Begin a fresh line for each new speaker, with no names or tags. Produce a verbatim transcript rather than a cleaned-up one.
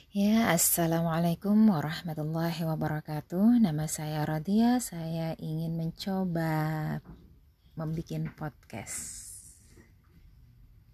Ya, Assalamualaikum warahmatullahi wabarakatuh. Nama saya Radia, saya ingin mencoba membuat podcast.